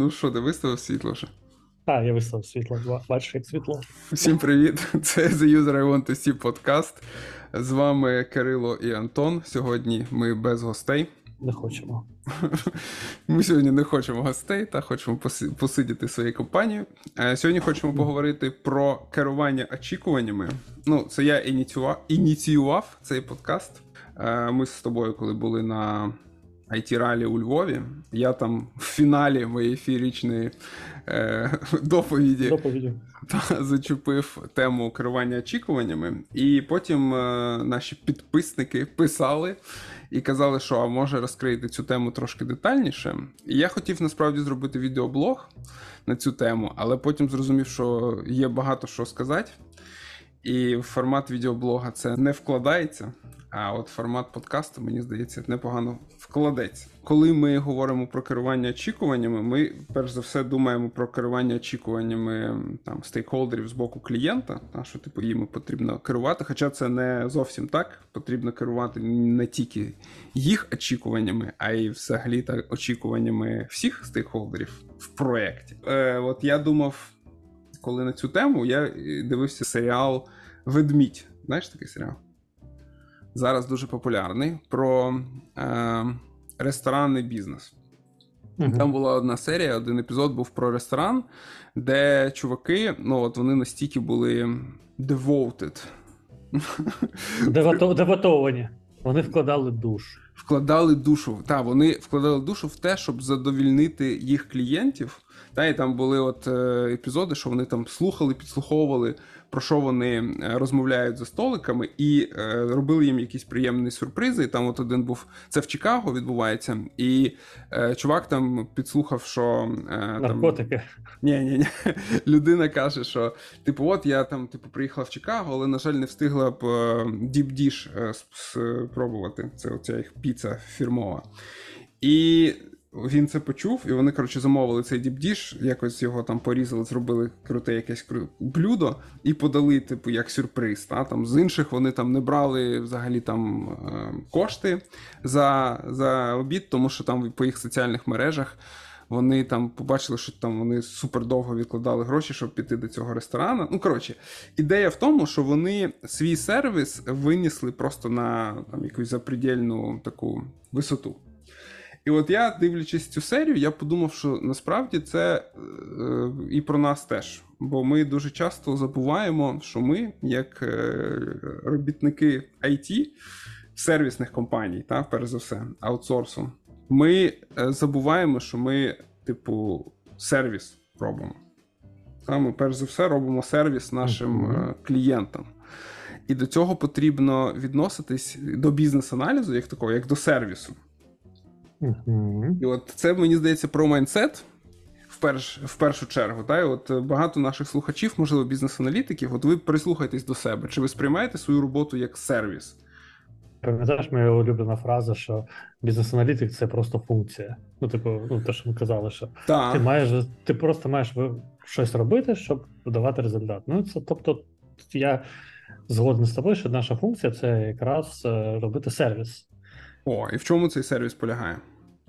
Ну що, ти виставив світло вже? Я виставив світло. Бачиш, як світло. Всім привіт! Це The User I Want to See подкаст. З вами Кирило і Антон. Сьогодні ми без гостей. Не хочемо. Ми сьогодні не хочемо гостей, та хочемо посидіти своєю компанією. Сьогодні хочемо поговорити про керування очікуваннями. Ну, це я ініціював цей подкаст. Ми з тобою, коли були на IT-ралі у Львові, я там в фіналі моєї феєричної доповіді зачепив тему керування очікуваннями. І потім наші підписники писали і казали, що а може розкрити цю тему трошки детальніше. І я хотів насправді зробити відеоблог на цю тему, але потім зрозумів, що є багато що сказати. І в формат відеоблога це не вкладається, а от формат подкасту, мені здається, непогано вкладеться. Коли ми говоримо про керування очікуваннями, ми, перш за все, думаємо про керування очікуваннями там, стейкхолдерів з боку клієнта, що типу, їм потрібно керувати, хоча це не зовсім так. Потрібно керувати не тільки їх очікуваннями, а й взагалі так, очікуваннями всіх стейкхолдерів в проєкті. От я думав, коли на цю тему, я дивився серіал «Ведмідь». Знаєш такий серіал? Зараз дуже популярний, про ресторанний бізнес. Там була одна серія, один епізод був про ресторан, де чуваки, ну от вони настільки були devoted. Деватовані. Вони вкладали душу. Вони вкладали душу в те, щоб задовільнити їх клієнтів. І там були от епізоди, що вони там слухали, підслуховували, про що вони розмовляють за столиками, і робили їм якісь приємні сюрпризи. І там от один був, це в Чикаго відбувається, і чувак там підслухав, що... Наркотики. Ні. Людина каже, що, типу, от я там, типу, приїхала в Чикаго, але, на жаль, не встигла б Deep Dish спробувати. Це оця їх піца фірмова. І він це почув, і вони, коротше, замовили цей Deep Dish, якось його там порізали, зробили круте якесь блюдо і подали, типу, як сюрприз. Там з інших вони там не брали взагалі там кошти за обід, тому що там по їх соціальних мережах вони там побачили, що там вони супер довго відкладали гроші, щоб піти до цього ресторану. Ну, коротше, ідея в тому, що вони свій сервіс винесли просто на там, якусь запредельну таку висоту. І от я, дивлячись цю серію, я подумав, що насправді це і про нас теж. Бо ми дуже часто забуваємо, що ми, як робітники IT, сервісних компаній, перш за все, аутсорсу, ми забуваємо, що ми, типу, сервіс робимо. Ми, перш за все, робимо сервіс нашим клієнтам. І до цього потрібно відноситись до бізнес-аналізу, як такого, як до сервісу. І от це, мені здається, про майндсет в першу чергу. І от багато наших слухачів, можливо, бізнес-аналітиків, от ви прислухайтесь до себе. Чи ви сприймаєте свою роботу як сервіс? Пам'ятаєш, моя улюблена фраза, що бізнес-аналітик – це просто функція. Те, що ми казали, що ти просто маєш щось робити, щоб давати результат. Тобто, я згоден з тобою, що наша функція – це якраз робити сервіс. І в чому цей сервіс полягає?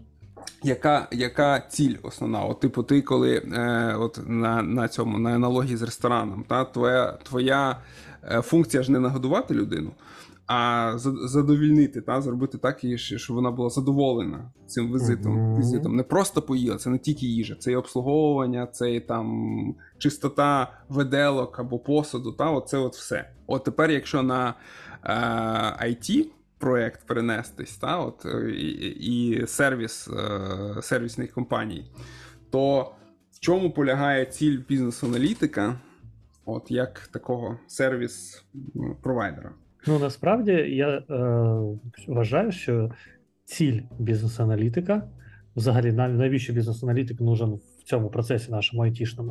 Яка ціль основна? От, типу, ти коли от на аналогії з рестораном, твоя функція ж не нагодувати людину, а задовільнити, зробити так, щоб вона була задоволена цим візитом. Не просто поїла, це не тільки їжа, це і обслуговування, це і там чистота виделок або посуду, оце от все. От тепер, якщо на IT проєкт перенестись, і сервісних компаній, то в чому полягає ціль бізнес-аналітика, от як такого сервіс-провайдера? Насправді, я вважаю, що ціль бізнес-аналітика, взагалі, навіщо бізнес-аналітик нужен в цьому процесі нашому айтішному,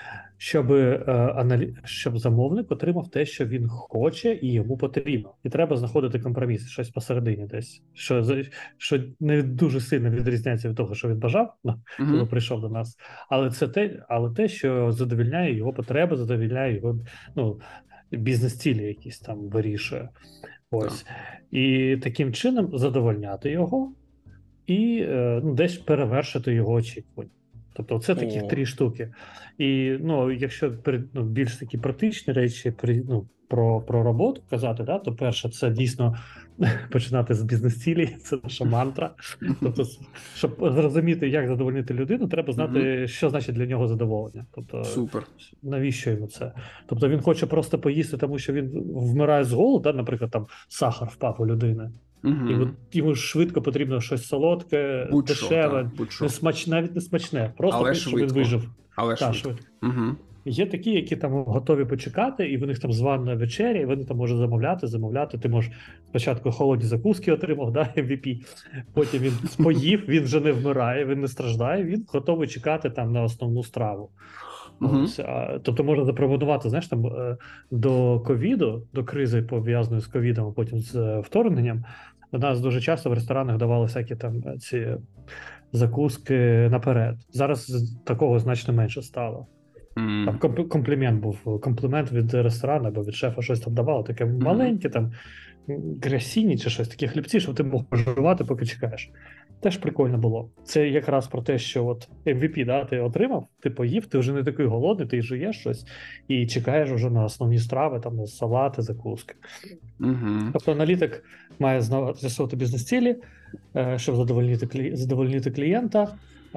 щоб замовник отримав те, що він хоче і йому потрібно. І треба знаходити компроміс, щось посередині десь, що не дуже сильно відрізняється від того, що він бажав, коли прийшов до нас, але те, що задовільняє його потреби, задовільняє його, бізнес-цілі якісь там вирішує. Ось. І таким чином задовольняти його і десь перевершити його очікування. Тобто це таких 3 штуки. І якщо більш такі практичні речі про роботу казати, да, то перше, це дійсно починати з бізнес-цілі, це наша мантра. Тобто, щоб зрозуміти, як задовольнити людину, треба знати, що значить для нього задоволення. Тобто, супер. Навіщо йому це? Тобто він хоче просто поїсти, тому що він вмирає з голоду, да? Наприклад, там сахар впав у людини. І йому швидко потрібно щось солодке, дешеве, навіть не смачне, просто щоб він вижив. Але швидко. Є такі, які там готові почекати, і в них там звана вечеря, і вони там можуть замовляти. Ти можеш спочатку холодні закуски отримав, да, MVP, потім він поїв, він вже не вмирає, він не страждає, він готовий чекати там на основну страву. Тобто можна запропонувати, знаєш, там до ковіду, до кризи пов'язаної з ковідом, а потім з вторгненням, у нас дуже часто в ресторанах давали всякі там ці закуски наперед. Зараз такого значно менше стало. Там комплімент від ресторану або від шефа щось там давало, таке маленьке, там грясіні чи щось, такі хлібці, щоб ти мог поживати, поки чекаєш. Теж прикольно було. Це якраз про те, що от MVP, да, ти отримав, ти поїв, ти вже не такий голодний, ти жуєш щось і чекаєш вже на основні страви, там на салати, закуски. Тобто аналітик має з'ясувати бізнес-цілі, щоб задовольнити клієнта.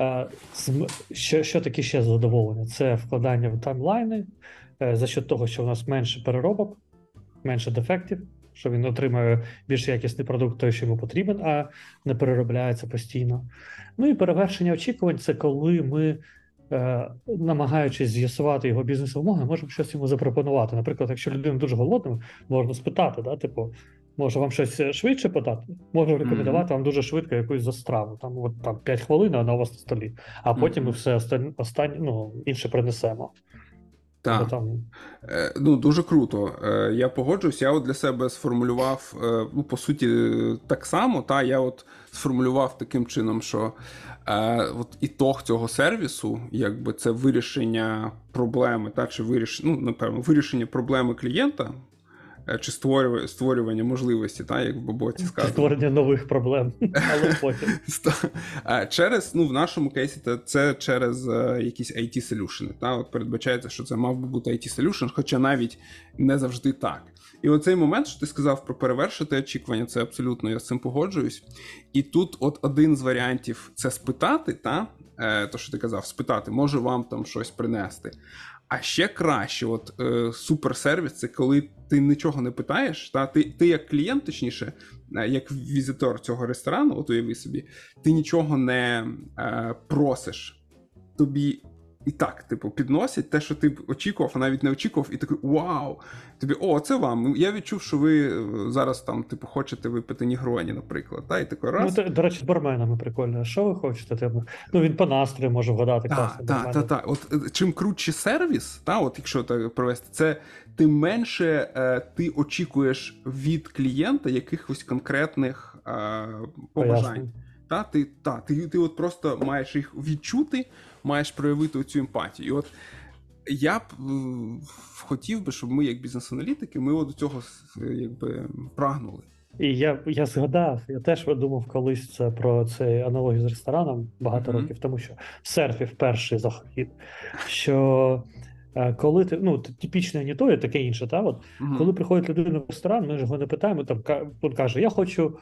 Що таке ще задоволення? Це вкладання в таймлайни за счет того, що у нас менше переробок, менше дефектів, що він отримує більш якісний продукт, той, що йому потрібен, а не переробляється постійно. Ну і перевершення очікувань – це коли ми, намагаючись з'ясувати його бізнес-вимоги, можемо щось йому запропонувати. Наприклад, якщо людина дуже голодна, можна спитати, да, типу, може вам щось швидше подати? Можу рекомендувати вам дуже швидко якусь застраву. Там 5 хвилин, вона у вас на столі. А потім ми все інше принесемо. Так. Дуже круто. Я погоджуюсь. Я от для себе сформулював, по суті, так само. Я от сформулював таким чином, що от ітог цього сервісу, якби це вирішення проблеми, чи вирішення проблеми клієнта, чи створювання можливості, як в боці сказано. Створення нових проблем, але потім. В нашому кейсі це через якісь IT-солюшени. От передбачається, що це мав би бути IT-солюшен, хоча навіть не завжди так. І оцей момент, що ти сказав про перевершити очікування, це абсолютно, я з цим погоджуюсь. І тут от один з варіантів – це спитати, то, що ти казав, спитати, може вам там щось принести. А ще краще, суперсервіс, це коли ти нічого не питаєш, ти як клієнт, точніше, як візитор цього ресторану, от уяви собі, ти нічого не просиш. Тобі і так, підносять те, що ти очікував, а навіть не очікував, і такий вау! Тобі, це вам. Я відчув, що ви зараз там, хочете випити нігроні, наприклад. І такий раз. До речі, з барменами прикольно. Що ви хочете? Він по настрою може вгадати класно. Так. От чим крутший сервіс, якщо так провести, це тим менше ти очікуєш від клієнта якихось конкретних побажань. Ти от просто маєш їх відчути, маєш проявити цю емпатію. І от я б хотів би, щоб ми, як бізнес-аналітики, ми до цього прагнули. І я згадав, я теж думав колись про цей аналогію з рестораном багато років, тому що серфів перший захід, що коли ти, типічне не то, і таке інше, коли приходить людина в ресторан, ми ж його не питаємо, він каже, я хочу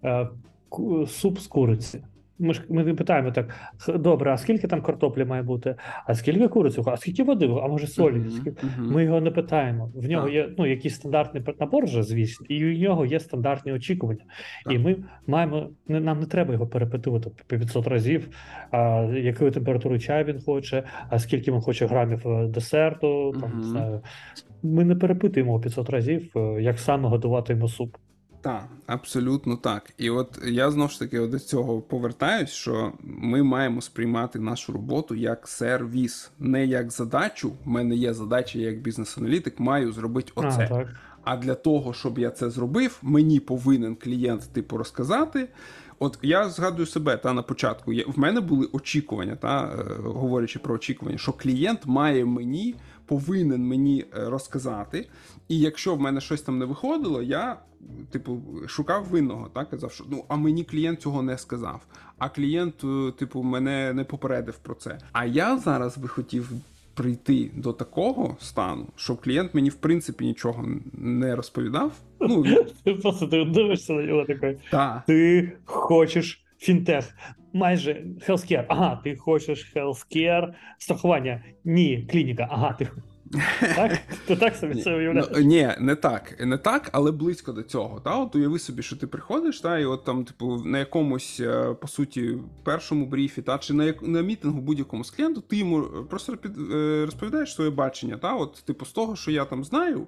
суп з куриці. Ми не питаємо так, добре, а скільки там картоплі має бути, а скільки куриці, а скільки води, а може солі? Ми його не питаємо. В нього є якийсь стандартний набор вже, звісно, і у нього є стандартні очікування. І ми нам не треба його перепитувати 500 разів, якої температури чаю він хоче, а скільки він хоче грамів десерту, не знаю. Ми не перепитуємо 500 разів, як саме готувати йому суп. Так, абсолютно так. І от я знову ж таки до цього повертаюсь, що ми маємо сприймати нашу роботу як сервіс, не як задачу. У мене є задача, я як бізнес-аналітик маю зробити оце. А для того, щоб я це зробив, мені повинен клієнт розказати. От я згадую себе на початку. В мене були очікування, говорячи про очікування, що клієнт має мені повинен мені розказати, і якщо в мене щось там не виходило, я, типу, шукав винного, так, казав, що, ну, а мені клієнт цього не сказав, а клієнт, типу, мене не попередив про це. А я зараз би хотів прийти до такого стану, щоб клієнт мені, в принципі, нічого не розповідав. Ну, Ти просто дивишся на нього такий. та. Ти хочеш фінтех, майже healthcare. Ага, ти хочеш healthcare, страхування. Ні, клініка. Ага, ти так? Ти так собі це уявляєш? Ну, ні, не так, але близько до цього. Та? От уяви собі, що ти приходиш, та, і от там, типу, на якомусь, по суті, першому бріфі, та, чи на мітингу будь-якому з клієнту, ти йому просто розповідаєш своє бачення, та, от, типу, з того, що я там знаю,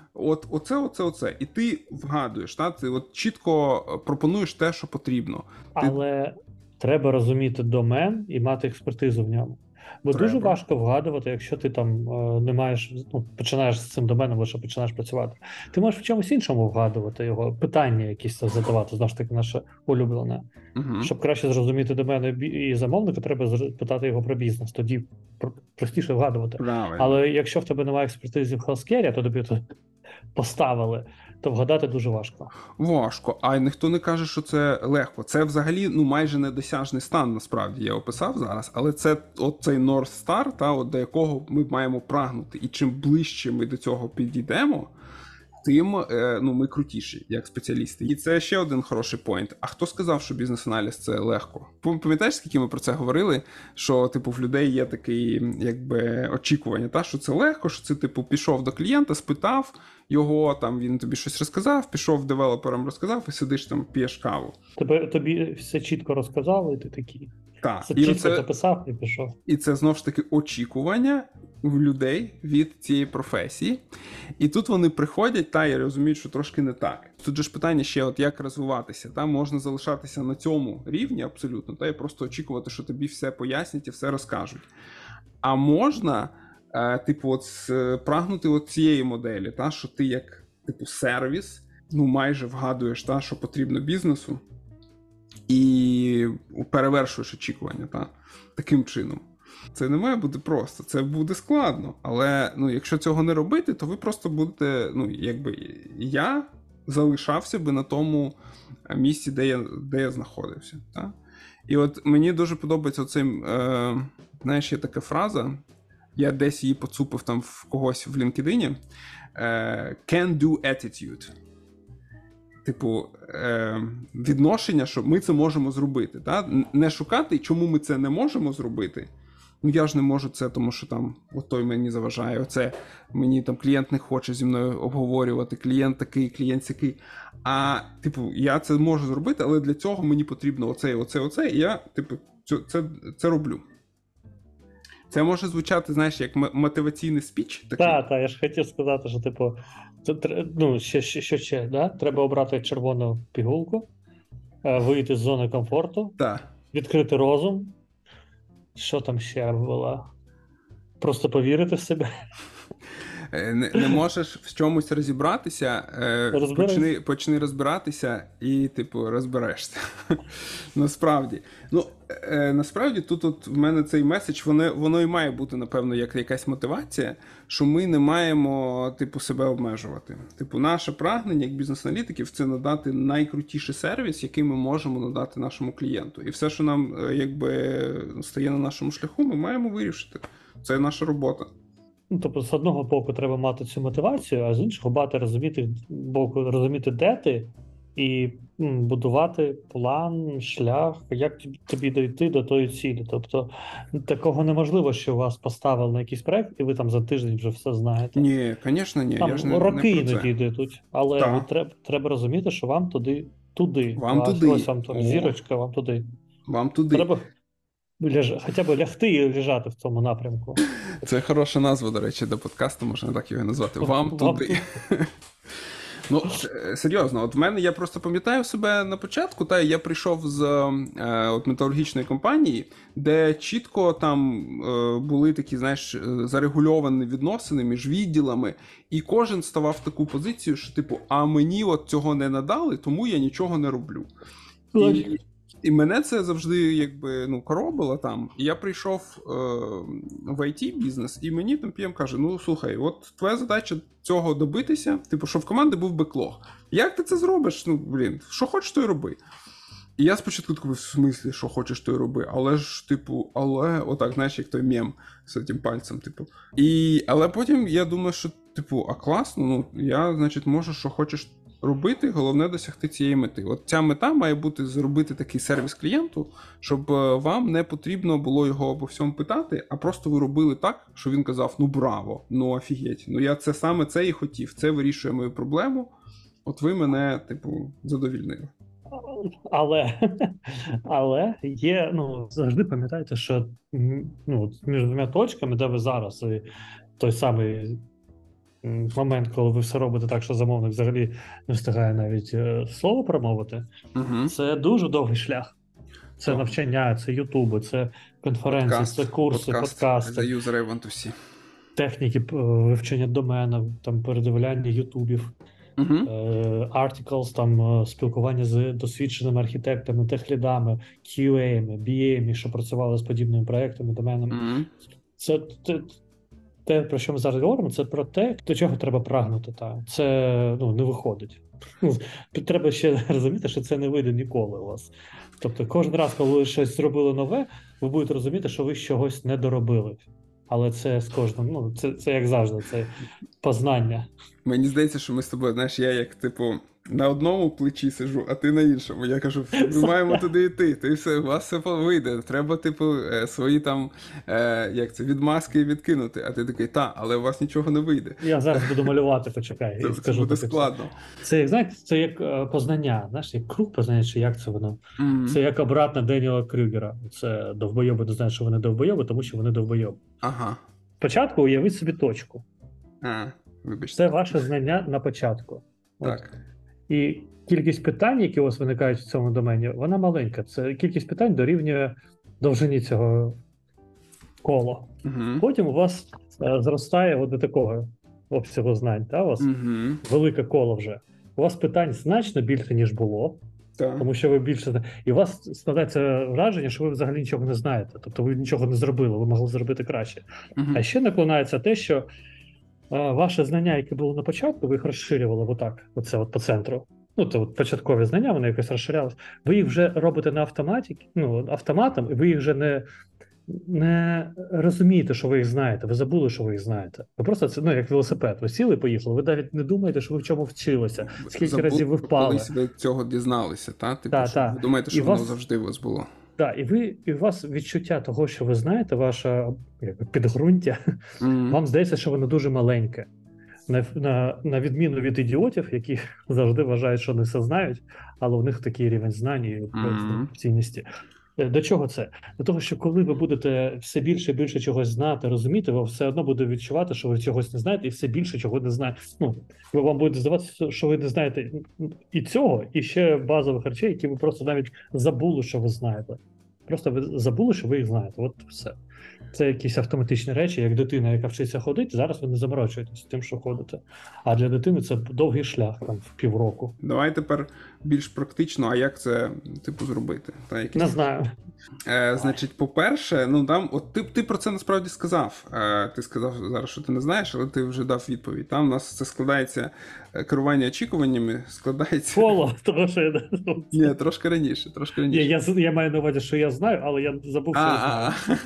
оце. І ти вгадуєш, та, ти от чітко пропонуєш те, що потрібно. Але треба розуміти домен і мати експертизу в ньому. Бо дуже важко вгадувати, якщо ти там не маєш, ну, починаєш з цим доменом, лише починаєш працювати. Ти можеш в чомусь іншому вгадувати його, питання якісь задавати, знову ж таки, наше улюблене. Щоб краще зрозуміти домен і замовника, треба питати його про бізнес, тоді простіше вгадувати. Правильно. Але якщо в тебе немає експертизи в healthcare, то тобі тут поставили, то вгадати дуже важко. Важко, а ніхто не каже, що це легко. Це взагалі, ну, майже недосяжний стан, насправді, я описав зараз, але це от цей North Star, та, от до якого ми маємо прагнути. І чим ближче ми до цього підійдемо, тим, ну, ми крутіші, як спеціалісти. І це ще один хороший поінт. А хто сказав, що бізнес-аналіз це легко? Пам'ятаєш, скільки ми про це говорили? Що, типу, в людей є таке, якби, очікування, та, що це легко, що це, типу, пішов до клієнта, спитав його, там, він тобі щось розказав, пішов девелоперам розказав і сидиш там, п'єш каву. Тобі все чітко розказали, і ти такий. Так. Все чітко записав і пішов. І це, знову ж таки, очікування в людей від цієї професії. І тут вони приходять, та, і розуміють, що трошки не так. Тут же ж питання ще, от як розвиватися. Та, можна залишатися на цьому рівні абсолютно, та, і просто очікувати, що тобі все пояснять і все розкажуть. А можна, типу, от прагнути от цієї моделі, та, що ти як, типу, сервіс, ну, майже вгадуєш, та, що потрібно бізнесу, і перевершуєш очікування, та, таким чином. Це не має бути просто, це буде складно, але, ну, якщо цього не робити, то ви просто будете, ну, якби, я залишався би на тому місці, де я знаходився. Та? І от мені дуже подобається оцей, знаєш, є така фраза, я десь її поцупив там в когось в LinkedIn, can-do attitude. Типу, відношення, що ми це можемо зробити. Та? Не шукати, чому ми це не можемо зробити. Ну, я ж не можу це, тому що там той мені заважає, оце мені там клієнт не хоче зі мною обговорювати, клієнт такий, клієнт сякий. А, типу, я це можу зробити, але для цього мені потрібно оце, і я, типу, це роблю. Це може звучати, знаєш, як мотиваційний спіч. Так, я ж хотів сказати, що, типу, ну, ще, да? Треба обрати червону пігулку, вийти з зони комфорту, відкрити розум. Що там ще було? Просто повірити в себе. Не можеш в чомусь розібратися, почни розбиратися і, типу, розберешся. Насправді. Ну, насправді, тут от в мене цей меседж, воно і має бути, напевно, як якась мотивація, що ми не маємо, типу, себе обмежувати. Типу, наше прагнення, як бізнес-аналітиків, це надати найкрутіший сервіс, який ми можемо надати нашому клієнту. І все, що нам, якби, стає на нашому шляху, ми маємо вирішити. Це наша робота. Ну, тобто, з одного боку треба мати цю мотивацію, а з іншого розуміти, де ти, і будувати план, шлях, як тобі дійти до тої цілі. Тобто, такого неможливо, що вас поставили на якийсь проект, і ви там за тиждень вже все знаєте. Ні, звісно, ні. Там я ж не роки іноді йдуть, але треба розуміти, що вам туди. Вам туди. Ось вам там зірочка, вам туди. Вам туди. Треба хоча б лягти і лежати в цьому напрямку. Це хороша назва, до речі, до подкасту, можна так його назвати. Вам туди. Ну, серйозно, от в мене, я просто пам'ятаю себе на початку, та я прийшов з от металургічної компанії, де чітко там були такі, знаєш, зарегульовані відносини між відділами, і кожен ставав в таку позицію, що, типу, а мені от цього не надали, тому я нічого не роблю. І мене це завжди якби коробило там. І я прийшов в IT-бізнес, і мені там PM каже: ну слухай, от твоя задача цього добитися, типу, щоб в команди був беклог. Як ти це зробиш? Що хочеш, то й роби. І я спочатку такий, в смислі, що хочеш, то й роби. Але ж, типу, отак, знаєш, як той мем з цим пальцем, типу. Але потім я думаю, що, типу, класно, я, значить, можу, що хочеш робити, головне досягти цієї мети. От ця мета має бути зробити такий сервіс клієнту, щоб вам не потрібно було його обо всьому питати, а просто ви робили так, що він казав: ну браво, ну офігеть, я саме це і хотів, це вирішує мою проблему, от ви мене, типу, задовільнили. Але є, завжди пам'ятайте, що між двома точками, де ви зараз, і той самий момент, коли ви все робите так, що замовник взагалі не встигає навіть слово промовити, це дуже довгий шлях. Це навчання, це ютуби, це конференції, це курси, подкасти. The user I want to see. Техніки вивчення домена, там передивляння ютубів. Articles, там спілкування з досвідченими архітектами, техлідами, QA-ми, BA-ми, що працювали з подібними проектами, доменами. Це те, про що ми зараз говоримо, це про те, до чого треба прагнути. Це не виходить. Треба ще розуміти, що це не вийде ніколи у вас. Тобто кожен раз, коли ви щось зробили нове, ви будете розуміти, що ви чогось не доробили. Але це з кожним, це як завжди, це познання. Мені здається, що ми з тобою, знаєш, я як, типу, на одному плечі сиджу, а ти на іншому. Я кажу, ми маємо туди йти, ти все, у вас все вийде. Треба, типу, свої там, відмазки відкинути. А ти такий, але у вас нічого не вийде. Я зараз буду малювати, почекай. Це буде складно. Це як, знаєте, це як познання, знаєш, як круг познання, чи як це воно? Це як обратно Деніела Крюгера. Це довбойоби не знають, що вони довбойоби, тому що вони довбойоби. Ага. Спочатку уявіть собі точку. Вибачте. Це ваше знання на початку. Так. І кількість питань, які у вас виникають в цьому домені, вона маленька. Це кількість питань дорівнює довжині цього кола. Потім у вас зростає до такого обсягу знань. У вас велике коло вже. У вас питань значно більше, ніж було. Так. Тому що ви більше... І у вас складається враження, що ви взагалі нічого не знаєте. Тобто ви нічого не зробили, ви могли зробити краще. А ще наклонається те, що ваше знання, яке було на початку, ви їх розширювали отак, оце по центру. Це початкові знання, вони якось розширялися. Ви їх вже робите на автоматом, і ви їх вже не розумієте, що ви їх знаєте. Ви забули, що ви їх знаєте. Ви просто це, як велосипед. Ви сіли, поїхали. Ви навіть не думаєте, що ви в чому вчилися. Скільки разів ви впали. Колись ви цього дізналися, так? Ви думаєте, що воно завжди у вас було. Так, і у вас відчуття того, що ви знаєте, ваше підґрунтя, вам здається, що воно дуже маленьке. На відміну від ідіотів, які завжди вважають, що вони все знають, але у них такий рівень знань і цінності. До чого це? До того, що коли ви будете все більше і більше чогось знати, розуміти, ви все одно будете відчувати, що ви чогось не знаєте, і все більше чого не знаєте. Вам буде здаватися, що ви не знаєте і цього, і ще базових речей, які ви просто навіть забули, що ви знаєте. Просто ви забули, що ви їх знаєте. От все. Це якісь автоматичні речі, як дитина, яка вчиться ходити, зараз ви не заморочуєтесь тим, що ходите. А для дитини це довгий шлях, там, в півроку. Давай тепер більш практично, а як це, зробити? Не знаю. Значить, по-перше, ти про це насправді сказав. Ти сказав зараз, що ти не знаєш, але ти вже дав відповідь. Там у нас це складається, керування очікуваннями складається... Коло, тому що я не знаю. Ні, трошки раніше. Я маю на увазі, що я знаю, але я забув, що я знаю.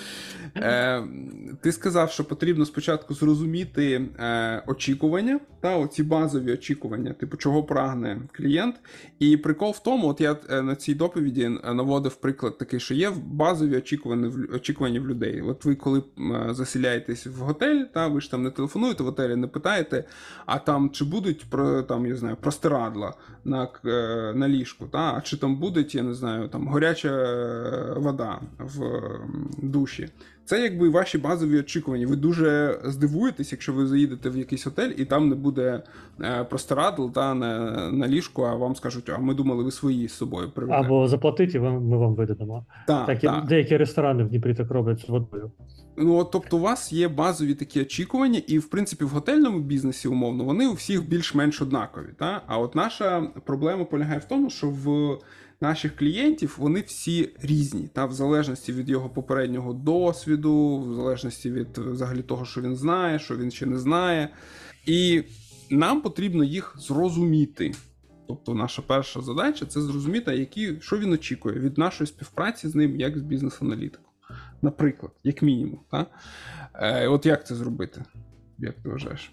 Ти сказав, що потрібно спочатку зрозуміти очікування, оці базові очікування, чого прагне клієнт. І прикол в тому, от я на цій доповіді наводив приклад такий, що є базові очікування в людей. От ви коли заселяєтесь в готель, ви ж там не телефонуєте в готелі, не питаєте, а там чи будуть простирадла на ліжку, а чи там буде, я не знаю, гаряча вода в душі. Це якби ваші базові очікування. Ви дуже здивуєтесь, якщо ви заїдете в якийсь готель і там не буде простирадл на ліжку, а вам скажуть, а ми думали, ви свої з собою привезли. Або заплатіть, і ми вам видадемо. Деякі ресторани в Дніпрі так роблять з водою. Тобто у вас є базові такі очікування, і, в принципі, в готельному бізнесі, умовно, вони у всіх більш-менш однакові. А от наша проблема полягає в тому, що в наших клієнтів, вони всі різні, в залежності від його попереднього досвіду, в залежності від взагалі того, що він знає, що він ще не знає. І нам потрібно їх зрозуміти. Тобто наша перша задача – це зрозуміти, що він очікує від нашої співпраці з ним, як з бізнес-аналітиком. Наприклад, як мінімум. От як це зробити? Як ти вважаєш?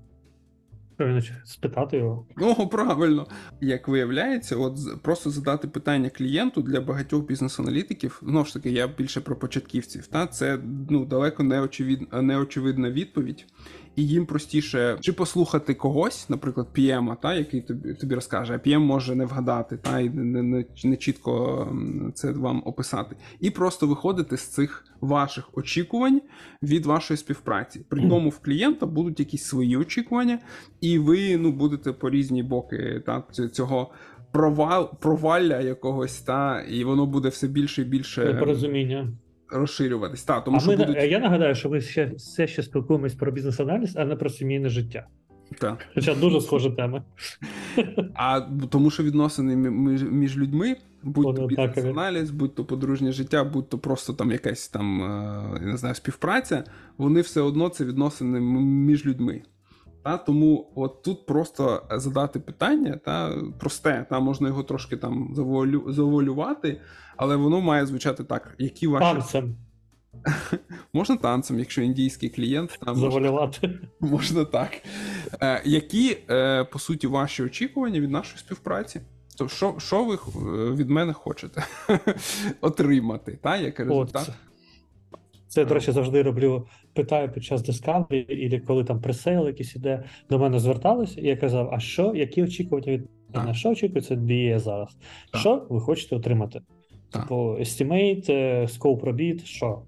Спитати його. Правильно. Як виявляється, просто задати питання клієнту для багатьох бізнес-аналітиків, знову ж таки, я більше про початківців, це далеко неочевидна відповідь, і їм простіше чи послухати когось, наприклад, PM, який тобі розкаже, а PM може не вгадати, і не чітко це вам описати. І просто виходити з цих ваших очікувань від вашої співпраці. При тому в клієнта будуть якісь свої очікування, і ви будете по різні боки цього провалля якогось, і воно буде все більше і більше непорозуміння розширюватись. Тому що я нагадаю, що ми все ще спілкуємось про бізнес-аналіз, а не про сімейне життя. Так. Хоча дуже схожа тема. Тому що відносини між людьми, будь-то бізнес-аналіз, будь-то подружнє життя, будь-то просто якась не знаю, співпраця, вони все одно це відносини між людьми. Тому от тут просто задати питання, просте, можна його трошки завуалювати, але воно має звучати так, які ваші... Танцем. Можна танцем, якщо індійський клієнт. Завуалювати. Можна так. Які, по суті, ваші очікування від нашої співпраці? Тобто, що ви від мене хочете отримати, як результат? Це, до речі, завжди роблю, питаю під час Discovery, або коли там пресейл якийсь іде, до мене зверталися, і я казав, які очікування від мене? Що очікується від BA зараз? Що ви хочете отримати? Типу, estimate, scope робіт, що?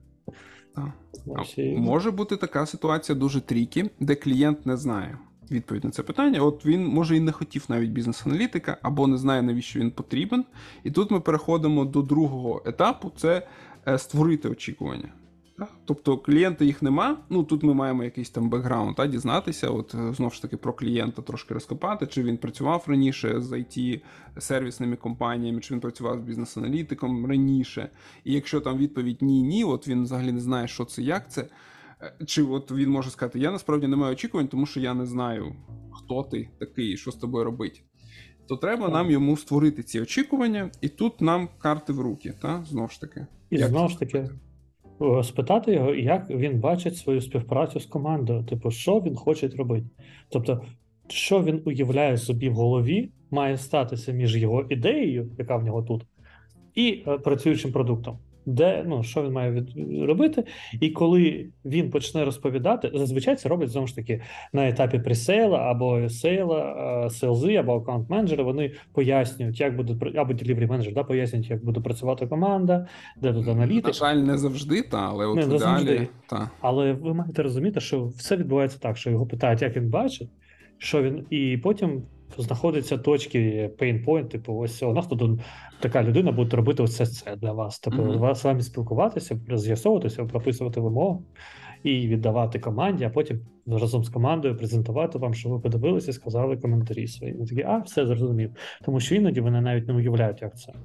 Може бути така ситуація дуже трікі, де клієнт не знає відповідь на це питання. От він, може, і не хотів навіть бізнес-аналітика, або не знає, навіщо він потрібен. І тут ми переходимо до другого етапу – це створити очікування. Тобто клієнта їх нема, тут ми маємо якийсь там бекграунд, дізнатися, знову ж таки про клієнта трошки розкопати, чи він працював раніше з IT-сервісними компаніями, чи він працював з бізнес-аналітиком раніше. І якщо там відповідь ні-ні, він взагалі не знає, що це, як це, чи він може сказати, я насправді не маю очікувань, тому що я не знаю, хто ти такий, що з тобою робити. То треба нам йому створити ці очікування, і тут нам карти в руки, знову ж таки. І знову ж таки, спитати його, як він бачить свою співпрацю з командою, що він хоче робити. Тобто, що він уявляє собі в голові, має статися між його ідеєю, яка в нього тут, і працюючим продуктом. Що він має робити, і коли він почне розповідати, зазвичай це роблять, знову ж таки, на етапі пресейла, або сейла, селзи, або аккаунт-менеджери, вони пояснюють, як буде, або делівері-менеджер, пояснюють, як буде працювати команда, де тут аналітика. На жаль, не завжди, але от в ідеалі. Але ви маєте розуміти, що все відбувається так, що його питають, як він бачить, що він, і потім знаходяться точки pain point, ось у нас тут така людина буде робити ось це для вас. З вами спілкуватися, з'ясовуватися, прописувати вимоги і віддавати команді, а потім разом з командою презентувати вам, що ви подивилися і сказали коментарі свої. Ви такі, все зрозумів. Тому що іноді вони навіть не уявляють, як це.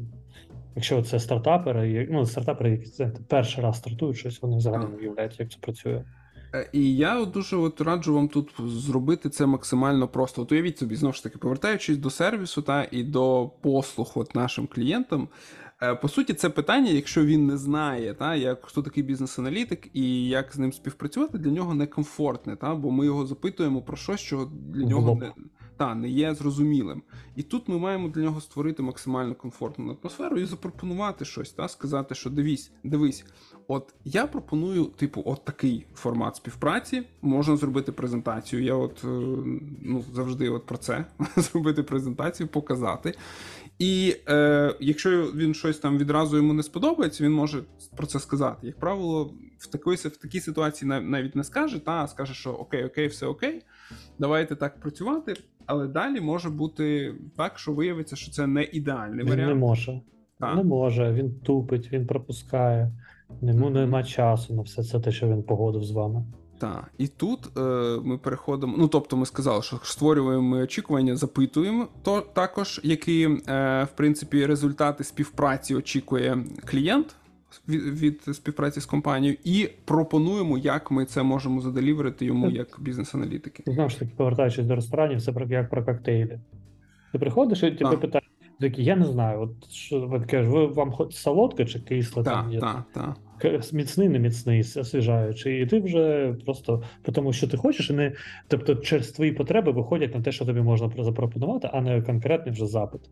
Якщо це стартапери, які перший раз стартують щось, вони взагалі не уявляють, як це працює. І я дуже раджу вам тут зробити це максимально просто. Уявіть собі, знову ж таки, повертаючись до сервісу і до послуг нашим клієнтам, по суті, це питання, якщо він не знає, хто такий бізнес-аналітик і як з ним співпрацювати, для нього некомфортне, бо ми його запитуємо про щось, що для нього не є зрозумілим. І тут ми маємо для нього створити максимально комфортну атмосферу і запропонувати щось, сказати, що дивись, от я пропоную, от такий формат співпраці, можна зробити презентацію, я завжди про це, зробити презентацію, показати. І якщо він щось там відразу йому не сподобається, він може про це сказати. Як правило, в такій ситуації навіть не скаже, а скаже, що окей, все окей, давайте так працювати, але далі може бути так, що виявиться, що це не ідеальний варіант. Він не може, він тупить, він пропускає, йому нема часу на все це те, що він погодив з вами. Так, і тут ми переходимо, ну, тобто ми сказали, що створюємо очікування, запитуємо, то також, які, в принципі, результати співпраці очікує клієнт від співпраці з компанією, і пропонуємо, як ми це можемо заделіверити йому як бізнес-аналітики. Знову ж таки, повертаючись до ресторанів, це як про коктейлі. Ти приходиш і тебе питають, такі, я не знаю, от що ви кажеш, вам солодке чи кисле там є? Так. Міцний, не міцний, освіжаючий. І ти вже просто тому, що ти хочеш, і не, тобто через твої потреби виходять на те, що тобі можна запропонувати, а не конкретний вже запит.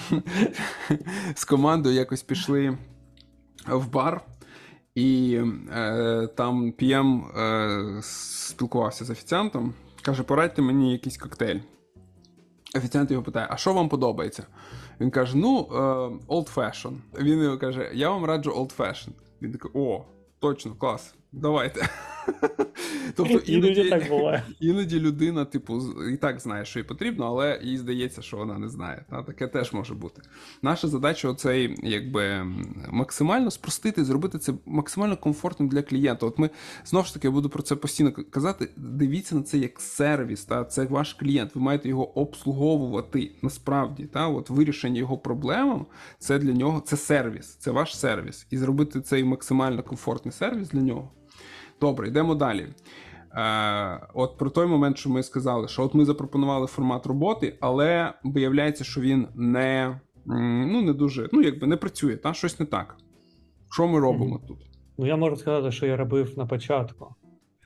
З командою якось пішли в бар, і там PM спілкувався з офіціантом, каже, порадьте мені якийсь коктейль. Офіціант його питає, а що вам подобається? Він каже, old fashion. Він його каже, я вам раджу old fashion. Він такий, о, точно, клас, давайте. Тобто іноді людина, типу, і так знає, що їй потрібно, але їй здається, що вона не знає. Таке теж може бути. Наша задача оцей, якби, максимально спростити, зробити це максимально комфортним для клієнта. От ми, знову ж таки, я буду про це постійно казати, дивіться на це як сервіс, це ваш клієнт, ви маєте його обслуговувати насправді. От вирішення його проблем, це для нього, це сервіс, це ваш сервіс. І зробити цей максимально комфортний сервіс для нього. Добре, йдемо далі. От про той момент, що ми сказали, що от ми запропонували формат роботи, але виявляється, що він не дуже, якби не працює, щось не так. Що ми робимо тут? Ну, я можу сказати, що я робив на початку.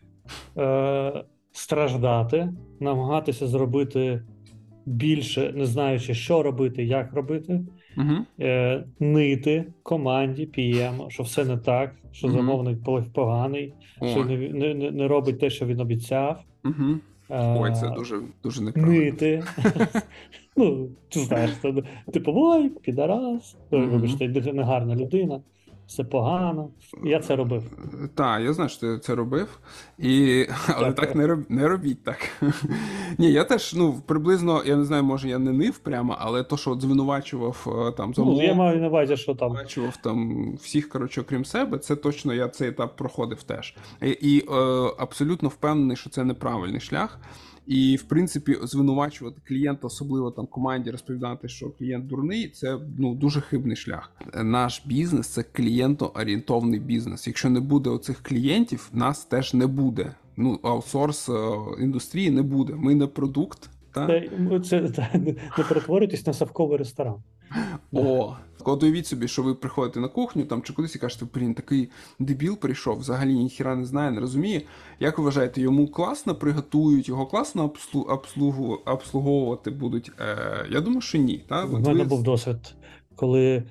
Страждати, намагатися зробити більше, не знаючи, що робити, як робити, нити команді, PM, що все не так, що замовник поганий, що не робить те, що він обіцяв. Ой, це дуже неправильно. Нити. Ти знаєш, типу, ой, підарас, вибачте, негарна людина. Все погано. Я це робив. Так, я знаю, що ти це робив, але так не робіть так. Ні, я теж, приблизно, я не знаю, може я не нив прямо, але то, що звинувачував там замовник, я маю на увазі, що там звинувачував там всіх, окрім себе, це точно я цей етап проходив теж. І абсолютно впевнений, що це неправильний шлях. І, в принципі, звинувачувати клієнта, особливо там команді, розповідати, що клієнт дурний, це дуже хибний шлях. Наш бізнес – це клієнтоорієнтовний бізнес. Якщо не буде оцих клієнтів, нас теж не буде. Аутсорс індустрії не буде. Ми не продукт. Це не перетворюйтесь на совковий ресторан. От уявіть собі, що ви приходите на кухню там чи кудись і кажете, такий дебіл прийшов, взагалі ніхіра не знає, не розуміє. Як ви вважаєте, йому класно приготують, його класно обслуговувати будуть? Я думаю, що ні. У мене був досвід, коли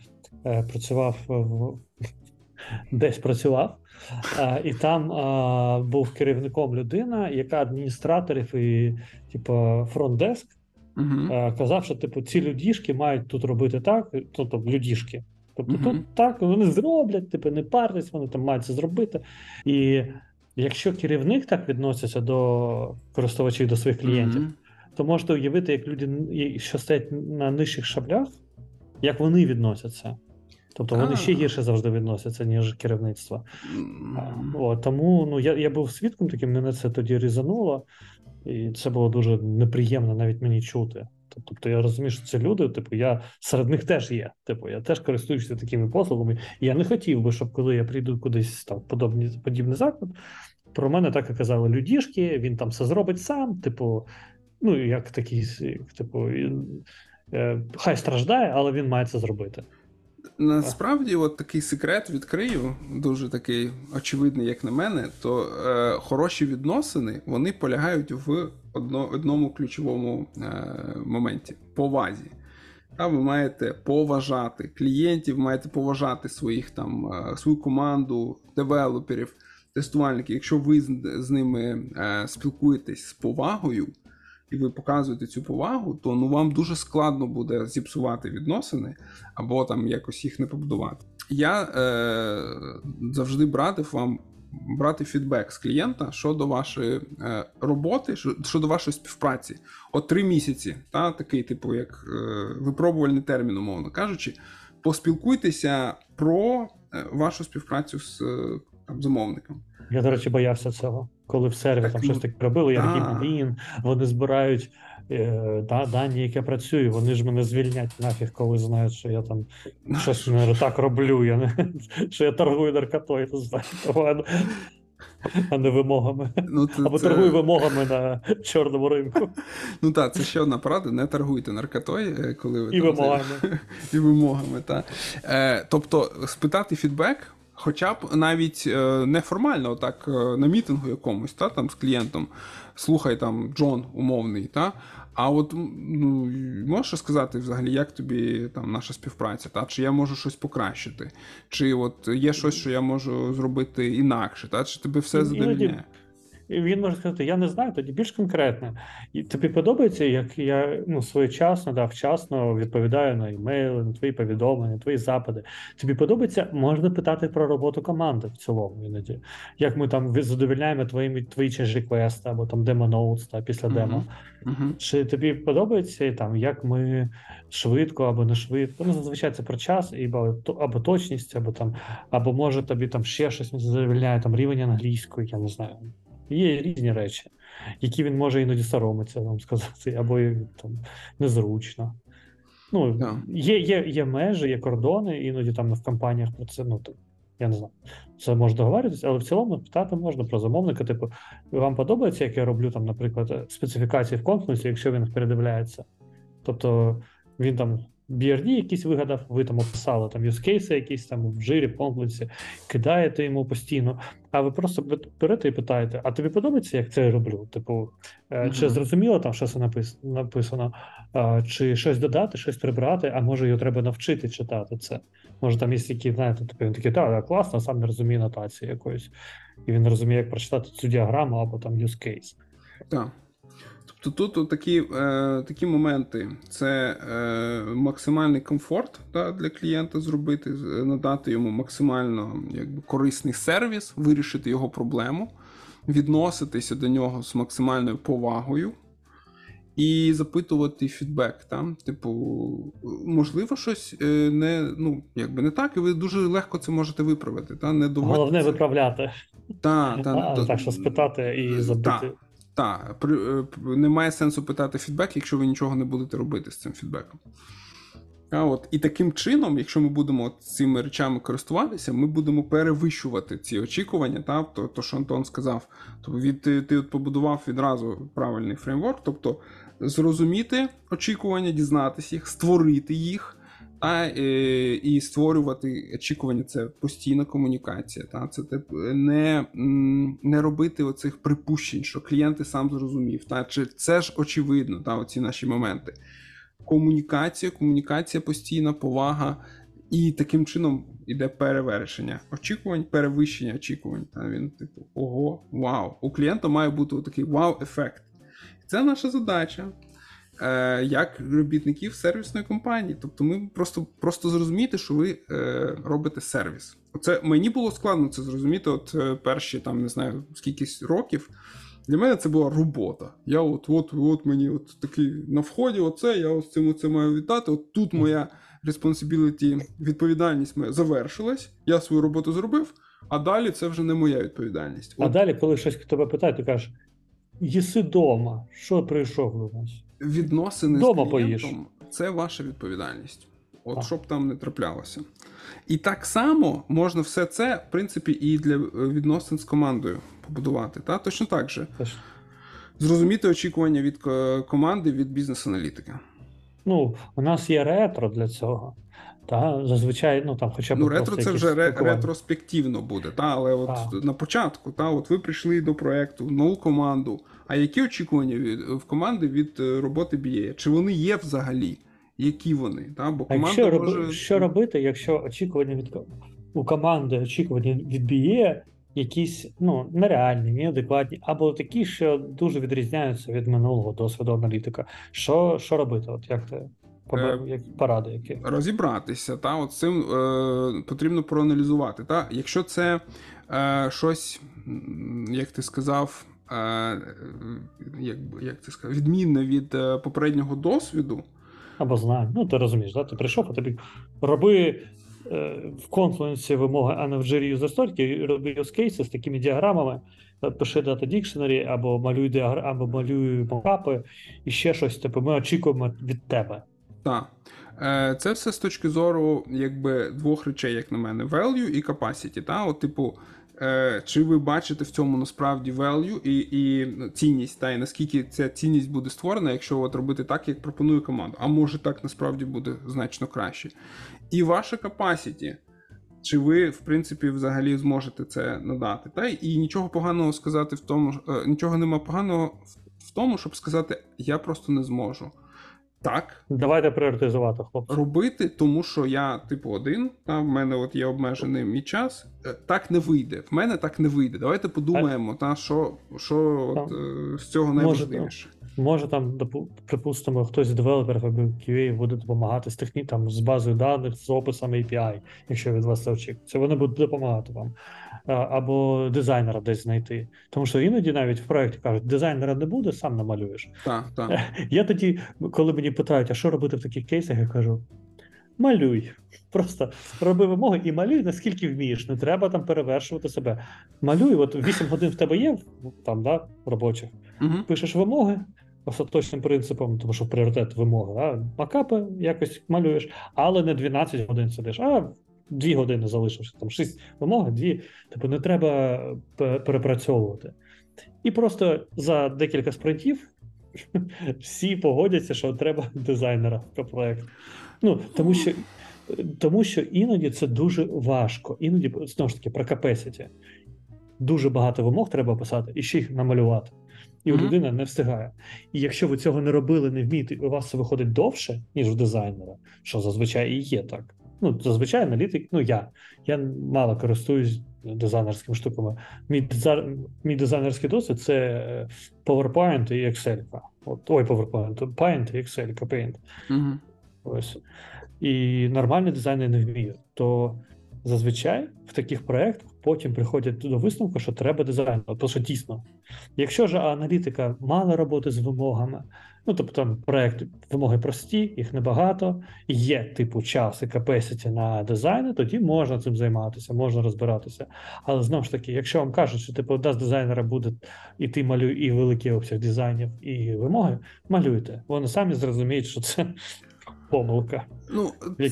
десь працював, і там був керівником людина, яка адміністраторів і фронт-деск, казав, що ці людішки мають тут робити так, тобто людішки. Тобто тут так, вони зроблять, не паритесь, вони там мають це зробити. І якщо керівник так відноситься до користувачів, до своїх клієнтів, то можете уявити, як люди, що стоять на нижчих шаблях, як вони відносяться. Тобто вони ще гірше завжди відносяться, ніж керівництво. Тому я був свідком таким, мене це тоді різануло, і це було дуже неприємно навіть мені чути. Тобто я розумію, що це люди, я серед них теж є. Я теж користуюся такими послугами. І я не хотів би, щоб коли я прийду кудись там подібний заклад, про мене так і казали людішки, він там все зробить сам, як такий, хай страждає, але він має це зробити. Насправді, от такий секрет відкрию, дуже такий очевидний, як на мене, то хороші відносини, вони полягають в одному ключовому моменті – повазі. Ви маєте поважати клієнтів, маєте поважати свою команду, девелоперів, тестувальників. Якщо ви з ними спілкуєтесь з повагою, і ви показуєте цю повагу, то вам дуже складно буде зіпсувати відносини або там якось їх не побудувати. Я завжди радив вам брати фідбек з клієнта щодо вашої роботи, щодо вашої співпраці. 3 місяці, такий як випробувальний термін, умовно кажучи, поспілкуйтеся про вашу співпрацю з замовником. Я, до речі, боявся цього. коли в серві Так, там ну, щось таке робили, я такий, да. блін, вони збирають дані, як я працюю, вони ж мене звільнять нафіг, коли знають, що я там щось не так роблю, що я торгую наркотою, то знаєте, а не вимогами. Ну, Або торгую вимогами на чорному ринку. Ну так, це ще одна порада, не торгуйте наркотою, коли ви І там вимогами. і вимогами, так. Тобто, спитати фідбек, хоча б навіть неформально, так, на мітингу якомусь, та, там, з клієнтом, слухай, там, Джон умовний, та, а от, ну, можеш сказати взагалі, як тобі там наша співпраця, та? Чи я можу щось покращити? Чи от є щось, що я можу зробити інакше, та? Чи тебе все задовільняє? І він може сказати, я не знаю, тоді більш конкретно. І тобі подобається, як я своєчасно, вчасно відповідаю на імейли, на твої повідомлення, твої запити. Тобі подобається, можна питати про роботу команди в цілому іноді. Як ми там задовільняємо твої change-реквести або там demo-notes після демо. Чи тобі подобається там, як ми швидко або не швидко? Ну, зазвичай це про час, або точність, або може тобі там ще щось задовільняє, там рівень англійської, я не знаю. Є різні речі, які він може іноді соромиться вам сказати, або там незручно. Ну, є межі, є кордони, іноді там в компаніях про це, ну, я не знаю, це може договоритися, але в цілому питати можна про замовника, типу, вам подобається, як я роблю, там, наприклад, специфікації в конфлікті, якщо він передивляється. Тобто він там BRD якийсь вигадав, ви там описали там юзкейси якісь там в жирі, в конфлікті, кидаєте йому постійно, а ви просто берете і питаєте, а тобі подобається, як це я роблю? Типу, чи зрозуміло там, що це написано, чи щось додати, щось прибрати, а може його треба навчити читати це. Може там є які, знаєте, типу, він такий, так, класно, сам не розуміє нотації якоїсь. І він розуміє, як прочитати цю діаграму або там use case. Так. Тобто тут такі моменти. Це максимальний комфорт для клієнта зробити, надати йому максимально корисний сервіс, вирішити його проблему, відноситися до нього з максимальною повагою і запитувати фідбек. Типу, можливо, щось не так, і ви дуже легко це можете виправити. Не Головне виправляти. Так що спитати і забити. Так, немає сенсу питати фідбек, якщо ви нічого не будете робити з цим фідбеком. І таким чином, якщо ми будемо цими речами користуватися, ми будемо перевищувати ці очікування, то що Антон сказав. Тобто ти побудував відразу правильний фреймворк, тобто зрозуміти очікування, дізнатися їх, створити їх, і створювати очікування. Це постійна комунікація. Це не робити оцих припущень, що клієнт сам зрозумів. Чи це ж очевидно, оці наші моменти. Комунікація постійна, повага, і таким чином іде перевершення очікувань, перевищення очікувань. Він типу, ого, вау. У клієнта має бути такий вау-ефект. Це наша задача. Як робітників сервісної компанії. Тобто ми просто зрозуміти, що ви робите сервіс. Оце мені було складно це зрозуміти, перші, там, не знаю, скількись років. Для мене це була робота. Я от мені такий на вході, я з цим оце маю віддати, тут моя responsibility, відповідальність моя завершилась, я свою роботу зробив, а далі це вже не моя відповідальність. А далі, коли щось тебе питає, ти кажеш, їси дома, що прийшов до нас? Відносини дома з клієнтом поїж. Це ваша відповідальність. Щоб там не траплялося. І так само можна все це, в принципі, і для відносин з командою побудувати. Точно так же. Зрозуміти очікування від команди, від бізнес-аналітика. У нас є ретро для цього. Зазвичай, хоча б ретро це вже ретроспективно буде, але на початку, ви прийшли до проєкту, нову команду. А які очікування в команди від роботи BA? Чи вони є взагалі? Які вони? Бо команда може... Що робити, якщо очікування у команди очікування від BA якісь нереальні, неадекватні, або такі, що дуже відрізняються від минулого досвіду аналітика? Що робити? Як ти? Поради які? Розібратися, з цим потрібно проаналізувати. Якщо це щось, як ти сказав, відмінне від попереднього досвіду. Або знаю. Ти розумієш, ти прийшов, а тобі роби в Confluence вимоги, а не в Jira User Story, роби use cases з такими діаграмами, пиши Data Dictionary, або малюй або малюй мокапи, і ще щось, типу, ми очікуємо від тебе. Так. Це все з точки зору, якби, двох речей, як на мене, value і capacity. Та? От, типу, чи ви бачите в цьому насправді value і цінність, та, і наскільки ця цінність буде створена, якщо от робити так, як пропонує команда. А може так насправді буде значно краще. І ваша capacity, чи ви, в принципі, взагалі зможете це надати. Та? І нічого поганого сказати в тому, нічого нема поганого в тому, щоб сказати, я просто не зможу. Так. Давайте пріоритизувати, хлопці. Робити, тому що я, типу, один, та, в мене от є обмежений мій час. Так не вийде. В мене так не вийде. Давайте подумаємо, та, що от, з цього найважливіше. Може там, припустимо, хтось з девелоперів або QA буде допомагати з базою даних, з описами API, якщо від вас це очікується. Вони будуть допомагати вам. Або дизайнера десь знайти. Тому що іноді навіть в проєкті кажуть, дизайнера не буде, сам намалюєш. Так. Я тоді, коли мені питають, а що робити в таких кейсах, я кажу, малюй. Просто роби вимоги і малюй, наскільки вмієш. Не треба там перевершувати себе. Малюй, от 8 годин в тебе є, там, да, робочих. Пишеш вимоги остаточним принципом, тому що пріоритет вимоги. Макапи якось малюєш, але не 12 годин сидиш, а 2 години залишився, там 6 вимог, 2, типу не треба перепрацьовувати. І просто за декілька спринтів всі погодяться, що треба дизайнера про проєкт. Ну, тому що іноді це дуже важко. Іноді, знову ж таки, про capacity. Дуже багато вимог треба писати і ще їх намалювати. І людина не встигає. І якщо ви цього не робили, не вмієте, у вас це виходить довше, ніж у дизайнера, що зазвичай і є так. Ну, зазвичай аналітик, я мало користуюсь дизайнерськими штуками. Мій дизайнерський досвід – це PowerPoint і Excel. PowerPoint, Paint і Excel, Paint. Ось. І нормальний дизайнер не вміє. То зазвичай в таких проєктах потім приходять до висновку, що треба дизайнер. Тому що дійсно, якщо ж аналітика мала роботи з вимогами, ну, тобто там проєкт, вимоги прості, їх небагато, є типу час і capacity на дизайни, тоді можна цим займатися, можна розбиратися. Але знову ж таки, якщо вам кажуть, що типу з дизайнера буде і ти малюй і великий обсяг дизайнів, і вимоги, малюйте. Вони самі зрозуміють, що це помилка. Ну,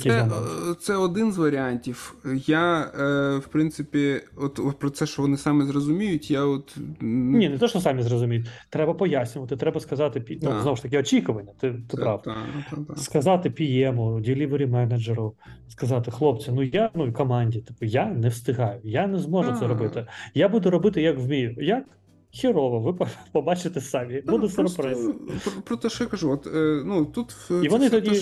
це один з варіантів. Я, в принципі, от про це, що вони самі зрозуміють, я от... Ні, не те, що самі зрозуміють. Треба пояснювати, треба сказати, знову ж таки, очікування, ти прав. Сказати PM, delivery менеджеру, сказати, хлопці, і команді, типу, я не встигаю, я не зможу це робити. Я буду робити, як вмію. Як? Хірово, ви побачите самі. Буде сюрприз. Про те, що я кажу, тут... І вони тоді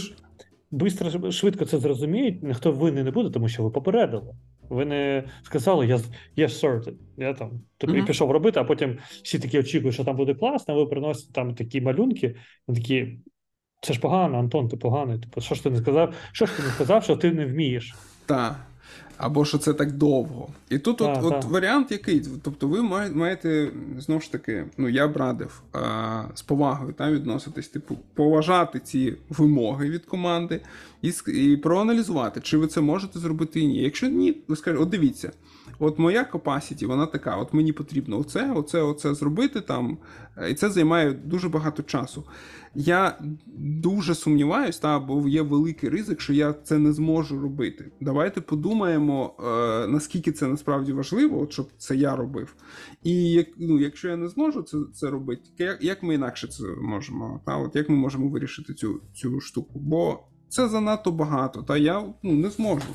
швидко це зрозуміють, ніхто винний не буде, тому що ви попередили. Ви не сказали, я sorted, я там, і пішов робити, а потім всі такі очікують, що там буде класно, а ви приносите там такі малюнки, такі, це ж погано, Антон, ти поганий, типу, що ж ти не сказав, що ти не вмієш. Так. Або що це так довго. І тут варіант який? Тобто ви маєте, знову ж таки, я б радив з повагою відноситись, типу, поважати ці вимоги від команди і проаналізувати, чи ви це можете зробити і ні. Якщо ні, ви скажете, от дивіться, от моя capacity, вона така, от мені потрібно оце зробити там, і це займає дуже багато часу. Я дуже сумніваюсь, бо є великий ризик, що я це не зможу робити. Давайте подумаємо, наскільки це насправді важливо, щоб це я робив. І якщо я не зможу це робити, як ми інакше це можемо? От як ми можемо вирішити цю штуку? Бо це занадто багато, я не зможу.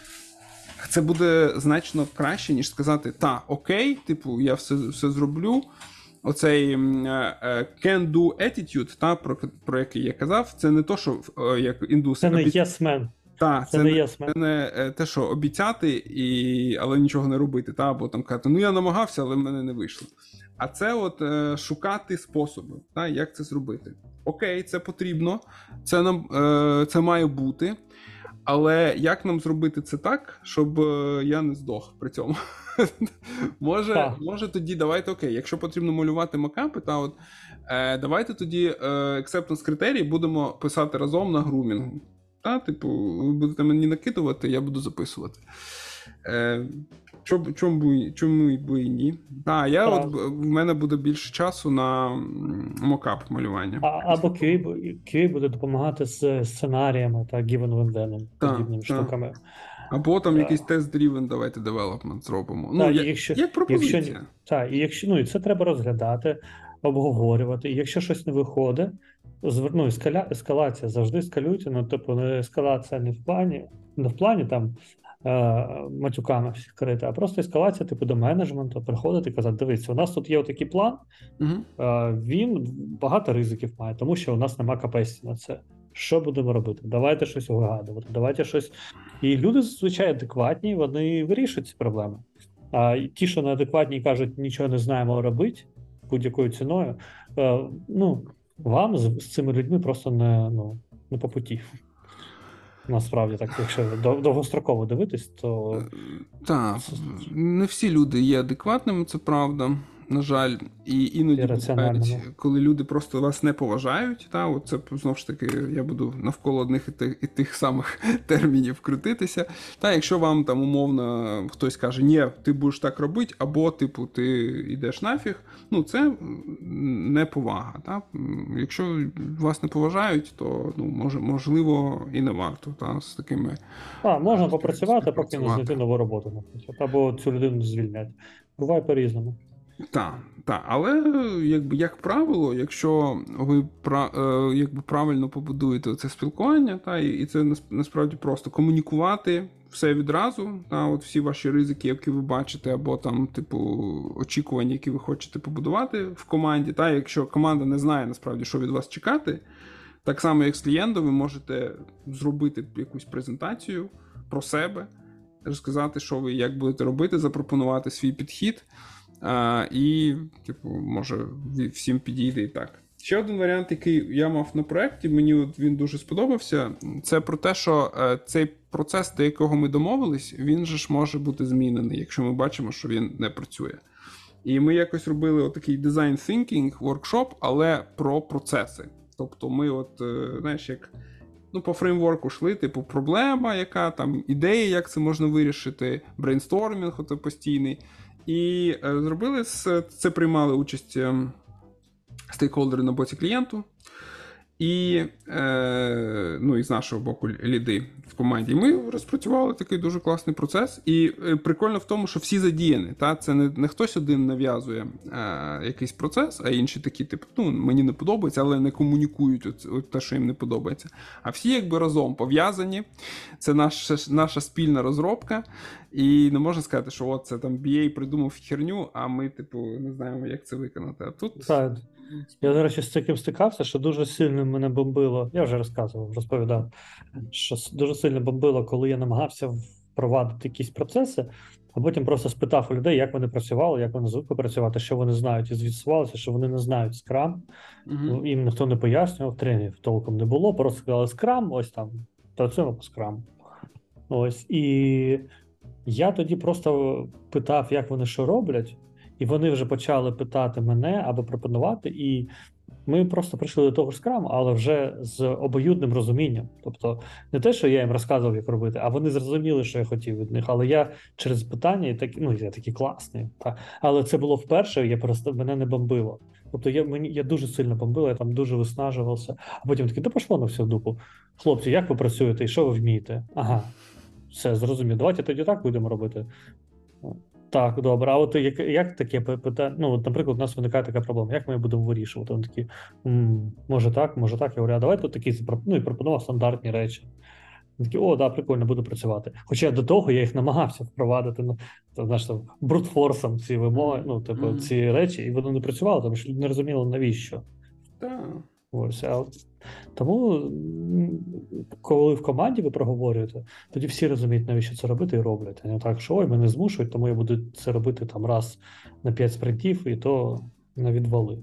Це буде значно краще, ніж сказати, окей, типу, я все зроблю. Оцей can-do attitude, про який я казав, це не то, що як індуси... Це не yes man. Це не те, що обіцяти, але нічого не робити, або там казати, я намагався, але в мене не вийшло. А це от шукати способи, як це зробити. Окей, це потрібно, це має бути, але як нам зробити це так, щоб я не здох при цьому? Може тоді давайте, окей, якщо потрібно малювати макапи, давайте тоді acceptance критерії будемо писати разом на грумінгу. Та, типу, ви будете мені накидувати, я буду записувати. Чому б і ні? В мене буде більше часу на мокап малювання. Або QA буде допомагати з сценаріями та given венденом, подібними штуками. Або там якийсь test-driven, давайте development зробимо. Як пропозиція. І це треба розглядати, обговорювати. І якщо щось не виходить, ескалація завжди ескалюйте, не ескалація не в плані там матюками всіх крити, а просто ескалація до менеджменту, приходити і казати, дивіться, у нас тут є отакий план, він багато ризиків має, тому що у нас нема капацитету на це. Що будемо робити? Давайте щось вигадувати, давайте щось. І люди, звичайно, адекватні, вони вирішують ці проблеми. А ті, що неадекватні і кажуть, нічого не знаємо робити будь-якою ціною, вам з цими людьми просто не по путі. Насправді, так, якщо довгостроково дивитись, то... Так, не всі люди є адекватними, це правда, на жаль. І іноді бувають, коли люди просто вас не поважають, це, знову ж таки, я буду навколо одних і тих самих термінів крутитися. Якщо вам там умовно хтось каже, ні, ти будеш так робити, або, типу, ти йдеш нафіг, це неповага. Якщо вас не поважають, то, можливо, і не варто з такими... можна попрацювати, поки не знайти нову роботу, наприклад, або цю людину звільнять. Буває по-різному. Так, але як правило, якщо ви правильно побудуєте це спілкування, і це насправді просто комунікувати все відразу, всі ваші ризики, які ви бачите, або там, очікування, які ви хочете побудувати в команді, якщо команда не знає насправді, що від вас чекати, так само як з клієнтом, ви можете зробити якусь презентацію про себе, розказати, що ви як будете робити, запропонувати свій підхід. І, може, всім підійде і так. Ще один варіант, який я мав на проєкті, мені він дуже сподобався, це про те, що цей процес, до якого ми домовились, він же ж може бути змінений, якщо ми бачимо, що він не працює. І ми якось робили отакий design thinking workshop, але про процеси. Тобто ми по фреймворку йшли, проблема, яка там, ідея, як це можна вирішити, брейнстормінг постійний. І зробили це, приймали участь стейкхолдери на боці клієнту і з нашого боку ліди в команді. І ми розпрацювали такий дуже класний процес. І прикольно в тому, що всі задіяні. Це не хтось один нав'язує якийсь процес, а інші такі, мені не подобається, але не комунікують те, що їм не подобається. А всі разом пов'язані. Це наша спільна розробка. І не можна сказати, що це там BA придумав херню, а ми, не знаємо, як це виконати. А тут... Так. Я, до речі, з таким стикався, що дуже сильно мене бомбило, я вже розповідав, що дуже сильно бомбило, коли я намагався впровадити якісь процеси, а потім просто спитав у людей, як вони працювали, як вони звикли працювати, що вони знають, і з'ясувалося, що вони не знають Scrum, їм ніхто не пояснював, тренерів толком не було, просто сказали Scrum, ось там, працюємо по Scrum. Ось, і я тоді просто питав, як вони що роблять, і вони вже почали питати мене або пропонувати, і ми просто прийшли до того ж Scrum, але вже з обоюдним розумінням. Тобто не те, що я їм розказував, як робити, а вони зрозуміли, що я хотів від них. Але я через питання, я такий класний. Але це було вперше, мене не бомбило. Тобто я дуже сильно бомбило, я там дуже виснажувався. А потім такий, пошло на всю дупу. Хлопці, як ви працюєте і що ви вмієте? Ага, все, зрозумів. Давайте тоді так будемо робити. Так, добре. А от як таке питання? Наприклад, у нас виникає така проблема. Як ми будемо вирішувати? Вони такі, може так. Я говорю, а давайте такі, і пропонував стандартні речі. Вони такі, прикольно, буду працювати. Хоча до того я їх намагався впровадити, брутфорсом ці вимоги, ці речі, і вони не працювали, тому що не розуміли, навіщо. Так. Ось, тому, коли в команді ви проговорюєте, тоді всі розуміють, навіщо це робити, і роблять. А не так, що мене змушують, тому я буду це робити там раз на 5 спринтів, і то на відвали.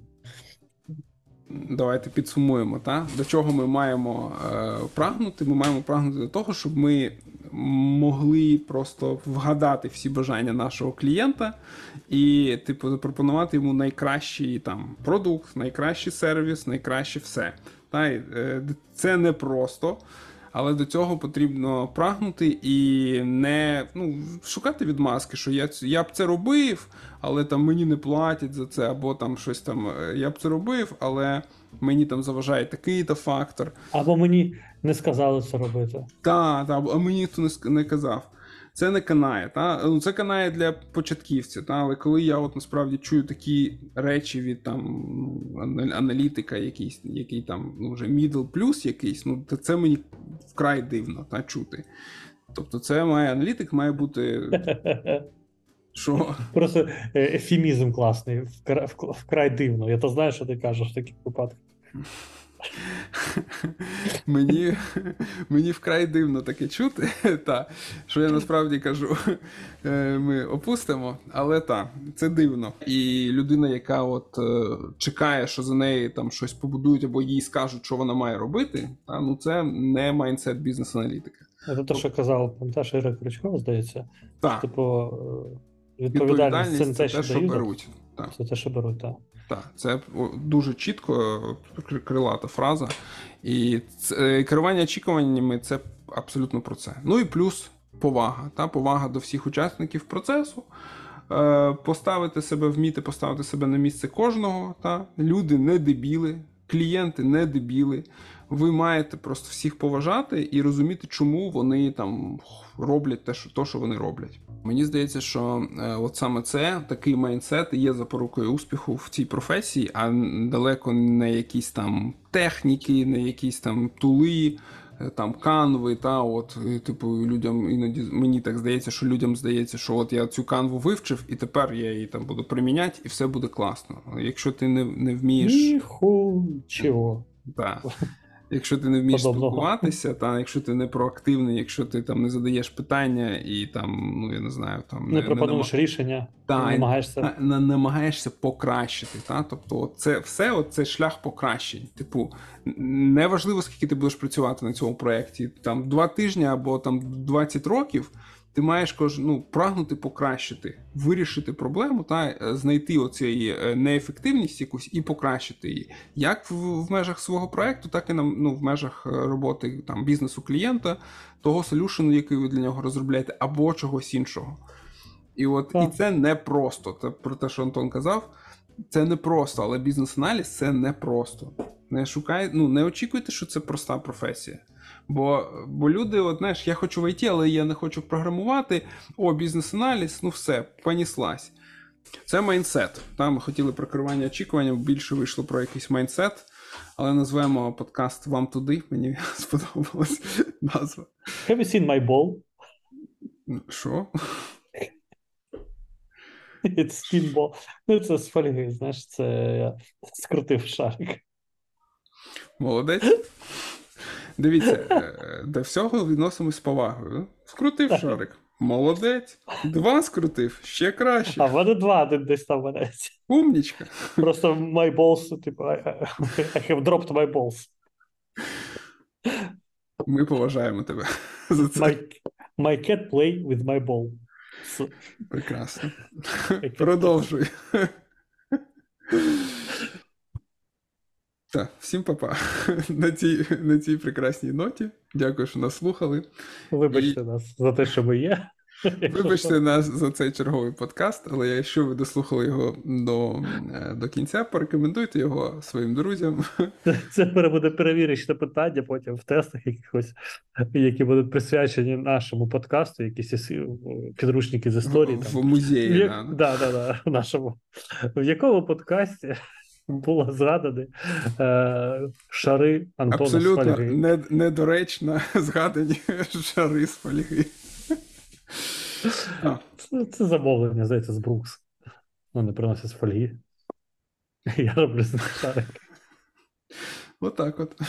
Давайте підсумуємо, до чого ми маємо прагнути. Ми маємо прагнути до того, щоб ми могли просто вгадати всі бажання нашого клієнта і, запропонувати йому найкращий продукт, найкращий сервіс, найкраще все. Це не просто, Але до цього потрібно прагнути і не шукати відмазки, що я б це робив, але там мені не платять за це, або там щось там, я б це робив, але мені там заважає такий-то фактор. Або мені не сказали це робити. Так, а мені ніхто не казав. Це не канає, та? Це канає для початківців, та? Але коли я от насправді чую такі речі від там аналітика, який там вже middle plus якийсь, то це мені вкрай дивно чути. Тобто це аналітик має бути. Що? Просто ефемізм класний, вкрай дивно. Я то знаю, що ти кажеш в таких випадках. Мені вкрай дивно таке чути, що я насправді кажу, ми опустимо, але це дивно. І людина, яка от чекає, що за неї там щось побудують або їй скажуть, що вона має робити, це не майндсет бізнес-аналітика. Це те, що казав, пам'ятаєш, Ігор Крючков, здається? Так. Типу, відповідальність це не те, що дають, беруть. Це те, що беруть, так. Так, це дуже чітко крилата фраза. І керування очікуваннями – це абсолютно про це. Ну і плюс повага. Повага до всіх учасників процесу. Вміти поставити себе на місце кожного. Люди не дебіли, клієнти не дебіли. Ви маєте просто всіх поважати і розуміти, чому вони там роблять те, що вони роблять. Мені здається, що от саме це, такий майндсет є запорукою успіху в цій професії, а далеко не якісь там техніки, не якісь там тули, там канви, людям іноді мені так здається, що от я цю канву вивчив, і тепер я її там буду приміняти, і все буде класно. Якщо ти не вмієш... Чого? Так. Якщо ти не вмієш спілкуватися, якщо ти не проактивний, якщо ти там не задаєш питання і там, я не знаю, там не пропонуєш рішення, намагаєшся покращити. Тобто це все, це шлях покращень. Типу, неважливо, скільки ти будеш працювати на цьому проєкті, там 2 тижні або там 20 років, ти маєш прагнути покращити, вирішити проблему, знайти оцю неефективність якусь і покращити її. Як в межах свого проєкту, так і в межах роботи бізнесу клієнта, того солюшену, який ви для нього розробляєте, або чогось іншого. І це не просто. Це про те, що Антон казав, це не просто, але бізнес-аналіз – це не просто. Не очікуйте, що це проста професія. Бо люди, я хочу в ІТ, але я не хочу програмувати, бізнес-аналіз, все, поніслась. Це майндсет. Ми хотіли про керування очікуванням, більше вийшло про якийсь майндсет, але назвемо подкаст «Вам туди», мені сподобалась назва. Have you seen my ball? Що? It's pinball. Це з фольги, знаєш, це я скрутив шарик. Молодець. Дивіться, до всього відносимось з повагою. Скрутив шарик. Молодець. 2 скрутив. Ще краще. А в мене 2 десь там валяється. Умнічка. Просто my balls, типу, I have dropped my balls. Ми поважаємо тебе за це. My cat play with my ball. Прекрасно. Продовжуй. Так, всім па-па. На цій прекрасній ноті. Дякую, що нас слухали. Вибачте нас за те, що ми є. Вибачте нас за цей черговий подкаст, але якщо ви дослухали його до кінця, порекомендуйте його своїм друзям. Це буде перевірочне питання потім в тестах якихось, які будуть присвячені нашому подкасту, якісь підручники з історії. В музеї. Так, нашому. В якому подкасті було згадані шари Антона з фольги? Абсолютно недоречно згадані шари з фольги. Це замовлення, здається, з Брукс. Вони приносять з фольги. Я роблю з них шарик. Отак от.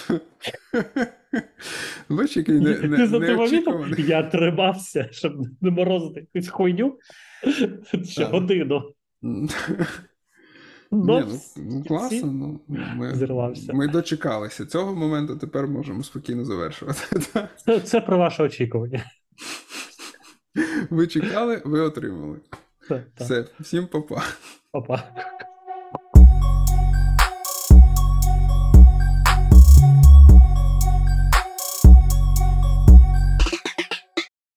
Бачиш, який неочікуваний. Я тримався, щоб не морозити якусь хуйню ще годину. Класно. Ми дочекалися цього моменту, тепер можемо спокійно завершувати. Це про ваше очікування. Ви чекали, ви отримали. Все, всім па-па. Па-па.